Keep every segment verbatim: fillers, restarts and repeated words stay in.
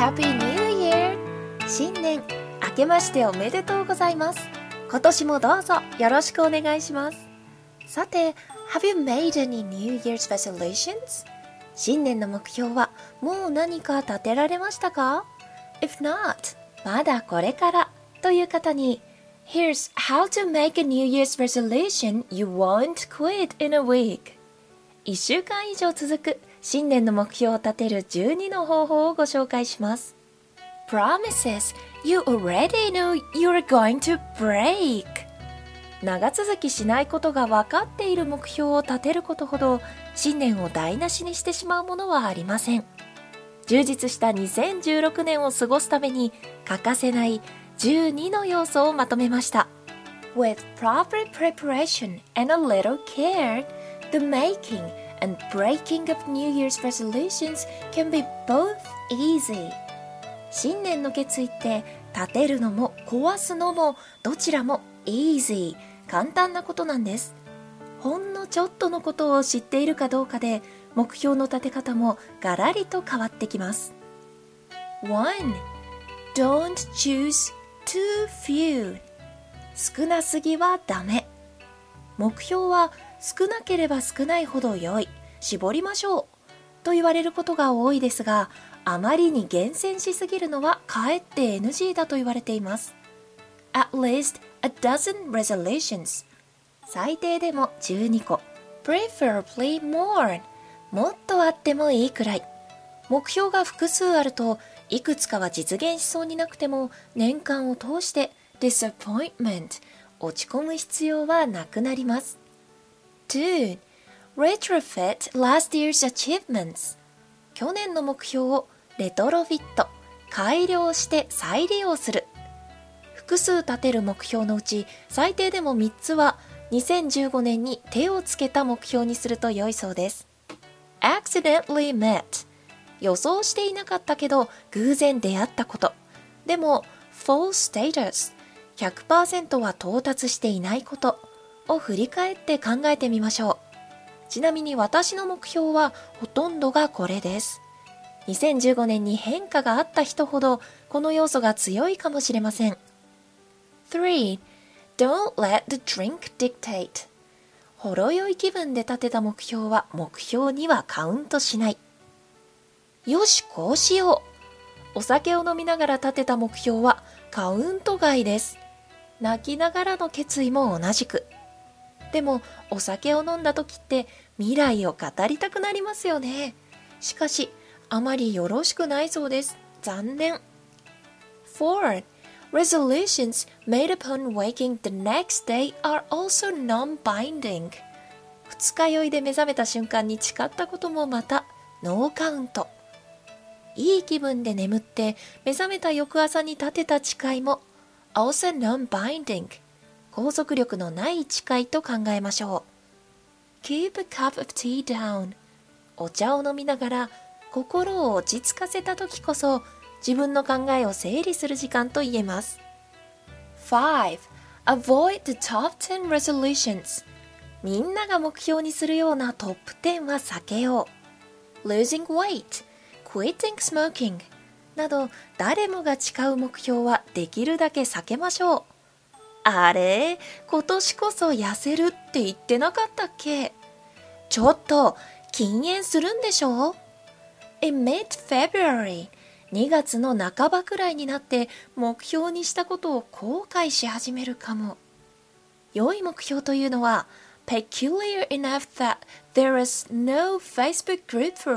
Happy New Year! 新年明けましておめでとうございます。今年もどうぞよろしくお願いします。さて、Have you made any New Year's resolutions? 新年の目標はもう何か立てられましたか？ If not, まだこれからという方に Here's how to make a New Year's resolution you won't quit in a week. いっしゅうかん以上続く新年の目標を立てるじゅうにの方法をご紹介します。Promises you already know you're going to break. 長続きしないことが分かっている目標を立てることほど新年を台無しにしてしまうものはありません。充実したにせんじゅうろくねんを過ごすために欠かせないじゅうにの要素をまとめました。With proper preparation and a little care, the making and breaking of New Year's resolutions can be both easy. 新年の決意って立てるのも壊すのもどちらも easy 簡単なことなんです。ほんのちょっとのことを知っているかどうかで目標の立て方もガラリと変わってきます。 ワン. Don't choose too few. 少なすぎはダメ。目標は少なければ少ないほど良い、絞りましょうと言われることが多いですが、あまりに厳選しすぎるのはかえって エヌジー だと言われています。 At least a dozen resolutions. 最低でもじゅうにこ。 Preferably more. もっとあってもいいくらい。目標が複数あるといくつかは実現しそうになくても年間を通して disappointment 落ち込む必要はなくなります。ツー. Retrofit last year's achievements. 去年の目標をレトロフィット、改良して再利用する。複数立てる目標のうち最低でもみっつはにせんじゅうごねんに手をつけた目標にすると良いそうです。Accidentally met. 予想していなかったけど偶然出会ったこと。でも Full status. ひゃくパーセント は到達していないことを振り返って考えてみましょう。ちなみに私の目標はほとんどがこれです。にせんじゅうごねんに変化があった人ほどこの要素が強いかもしれません。スリー. Don't let the drink dictate. ほろ酔い気分で立てた目標は目標にはカウントしない。よし、こうしよう。お酒を飲みながら立てた目標はカウント外です。泣きながらの決意も同じく。でもお酒を飲んだ時って未来を語りたくなりますよね。しかしあまりよろしくないそうです。残念。フォー. Resolutions made upon waking the next day are also non-binding. 二日酔いで目覚めた瞬間に誓ったこともまたノーカウント。いい気分で眠って目覚めた翌朝に立てた誓いも also non-binding。拘束力のない誓いと考えましょう。Keep a cup of tea down. お茶を飲みながら心を落ち着かせた時こそ自分の考えを整理する時間と言えます。ファイブ. Avoid the top ten resolutions. みんなが目標にするようなトップテンは避けよう。Losing weight, quitting smoking など誰もが誓う目標はできるだけ避けましょう。あれ、今年こそ痩せるって言ってなかったっけ？ちょっと禁煙するんでしょ？ In mid-February、にがつの半ばくらいになって目標にしたことを後悔し始めるかも。良い目標というのは peculiar enough that there is no Facebook group for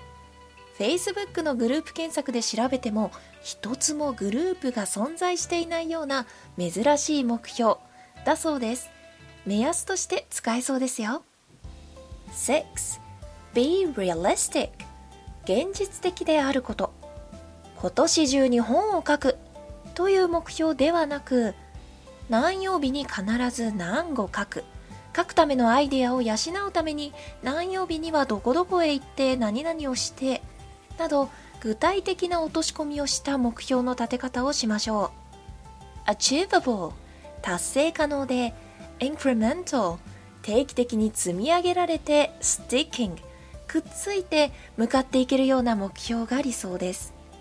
it。Facebook のグループ検索で調べても一つもグループが存在していないような珍しい目標だそうです。目安として使えそうですよ。シックス. Be realistic. 現実的であること。今年中に本を書くという目標ではなく、何曜日に必ず何語書く。書くためのアイデアを養うために何曜日にはどこどこへ行って何々をしてなど具体的な落とし込みをした目標の立て方をしましょう。Achievable 達成可能で Incremental 定期的に積み上げられて Sticking くっついて向かっていけるような目標が理想です。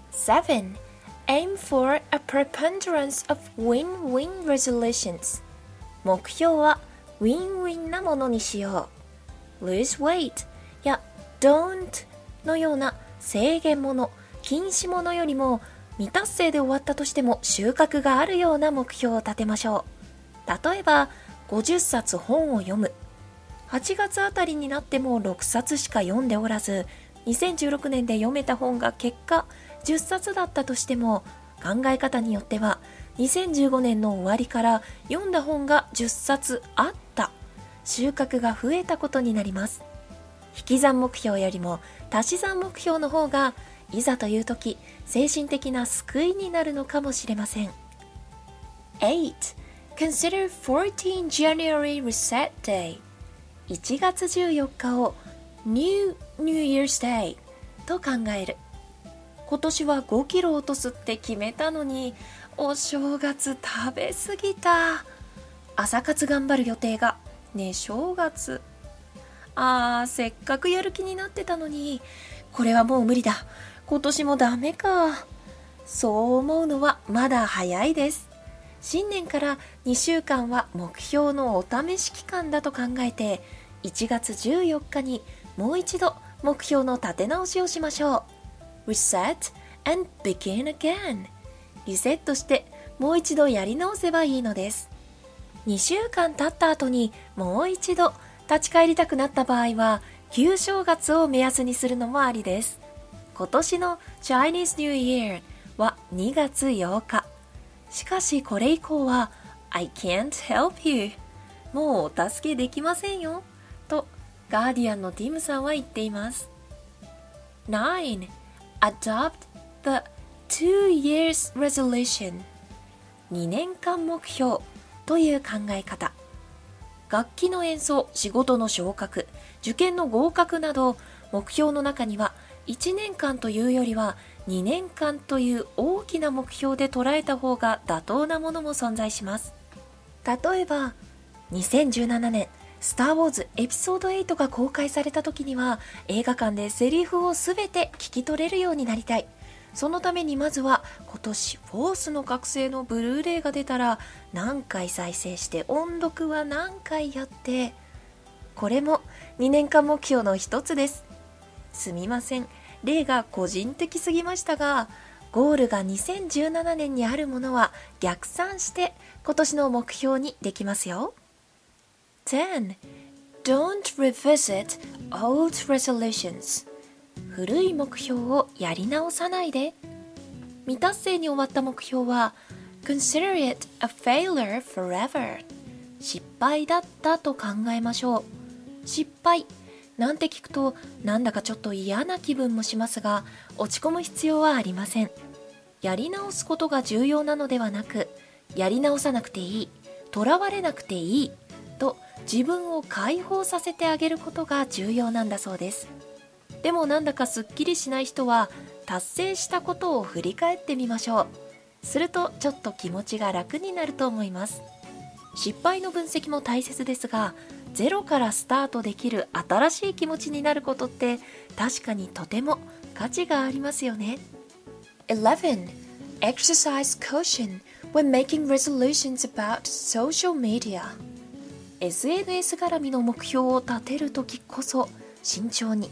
セブン Aim for a preponderance of win-win resolutions 目標はウィンウィンなものにしよう。 Lose weight や Don't のような制限もの、禁止ものよりも未達成で終わったとしても収穫があるような目標を立てましょう。例えばごじゅっさつ本を読む。はちがつあたりになってもろくさつしか読んでおらず、にせんじゅうろくねんで読めた本が結果じゅっさつだったとしても、考え方によってはにせんじゅうごねんの終わりから読んだ本がじゅっさつあった、収穫が増えたことになります。引き算目標よりも足し算目標の方がいざという時精神的な救いになるのかもしれません。エイト Consider fourteenth January Reset Day いちがつじゅうよっかを New New Year's Day と考える。今年はごキロ落とすって決めたのにお正月食べ過ぎた。朝活頑張る予定がね正月。あーせっかくやる気になってたのに、これはもう無理だ、今年もダメか。そう思うのはまだ早いです。新年からにしゅうかんは目標のお試し期間だと考えて、いちがつじゅうよっかにもう一度目標の立て直しをしましょう。 Reset and begin again リセットしてもう一度やり直せばいいのです。にしゅうかん経った後にもう一度立ち返りたくなった場合は旧正月を目安にするのもありです。今年の Chinese New Year はにがつようか。しかしこれ以降は I can't help you もうお助けできませんよとガーディアンのティムさんは言っています。ナイン Adopt the two years resolution にねんかん目標という考え方。楽器の演奏、仕事の昇格、受験の合格など目標の中にはいちねんかんというよりはにねんかんという大きな目標で捉えた方が妥当なものも存在します。例えばにせんじゅうななねんスターウォーズエピソードエイトが公開された時には映画館でセリフをすべて聞き取れるようになりたい。そのためにまずは今年フォースの覚醒のブルーレイが出たら何回再生して音読は何回やって、これもにねんかん目標の一つです。すみません、例が個人的すぎましたが、ゴールがにせんじゅうななねんにあるものは逆算して今年の目標にできますよ。テン Don't revisit old resolutions 古い目標をやり直さないで。未達成に終わった目標は Consider it a failure forever 失敗だったと考えましょう。失敗なんて聞くとなんだかちょっと嫌な気分もしますが、落ち込む必要はありません。やり直すことが重要なのではなく、やり直さなくていい、とらわれなくていいと自分を解放させてあげることが重要なんだそうです。でもなんだかすっきりしない人は達成したことを振り返ってみましょう。するとちょっと気持ちが楽になると思います。失敗の分析も大切ですが、ゼロからスタートできる新しい気持ちになることって確かにとても価値がありますよね。イレブン Exercise caution when making resolutions about social media エスエヌエス 絡みの目標を立てるときこそ慎重に。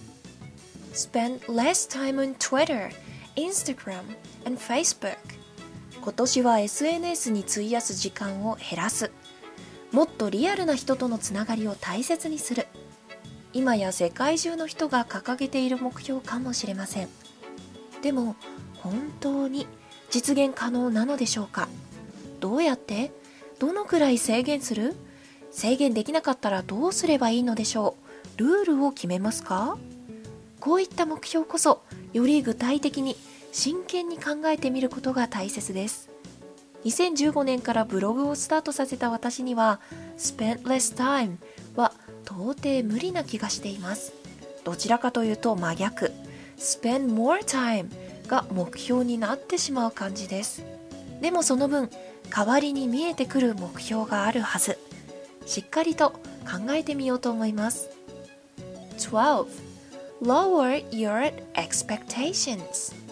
Spend less time on Twitter, Instagram and Facebook 今年は エスエヌエス に費やす時間を減らす。もっとリアルな人とのつながりを大切にする。今や世界中の人が掲げている目標かもしれません。でも本当に実現可能なのでしょうか。どうやって？どのくらい制限する？制限できなかったらどうすればいいのでしょう。ルールを決めますか？こういった目標こそより具体的に真剣に考えてみることが大切です。にせんじゅうごねんからブログをスタートさせた私には Spend less time は到底無理な気がしています。どちらかというと真逆 Spend more time が目標になってしまう感じです。でもその分代わりに見えてくる目標があるはず。しっかりと考えてみようと思います。じゅうに Lower your expectations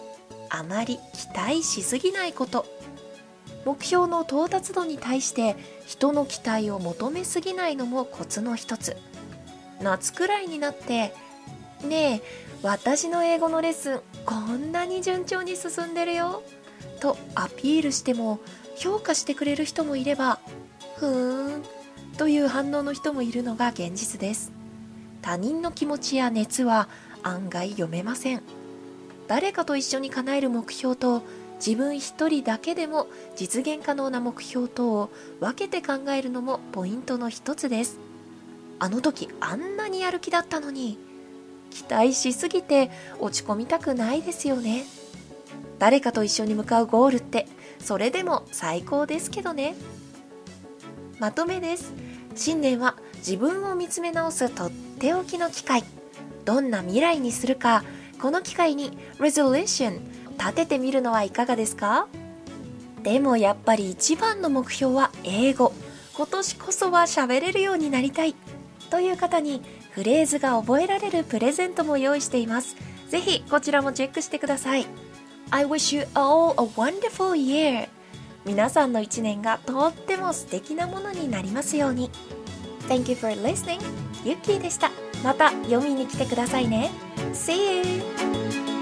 あまり期待しすぎないこと。目標の到達度に対して人の期待を求めすぎないのもコツの一つ。夏くらいになってねえ、私の英語のレッスンこんなに順調に進んでるよとアピールしても評価してくれる人もいれば、ふーんという反応の人もいるのが現実です。他人の気持ちや熱は案外読めません。誰かと一緒に叶える目標と自分一人だけでも実現可能な目標とを分けて考えるのもポイントの一つです。あの時あんなにやる気だったのに、期待しすぎて落ち込みたくないですよね。誰かと一緒に向かうゴールってそれでも最高ですけどね。まとめです。新年は自分を見つめ直すとっておきの機会。どんな未来にするか、この機会に Resolution 立ててみるのはいかがですか？でもやっぱり一番の目標は英語。今年こそは喋れるようになりたいという方にフレーズが覚えられるプレゼントも用意しています。ぜひこちらもチェックしてください。I wish you all a wonderful year。 皆さんの一年がとっても素敵なものになりますように。 Thank you for listening。 ゆっきーでした。また読みに来てくださいね。See you。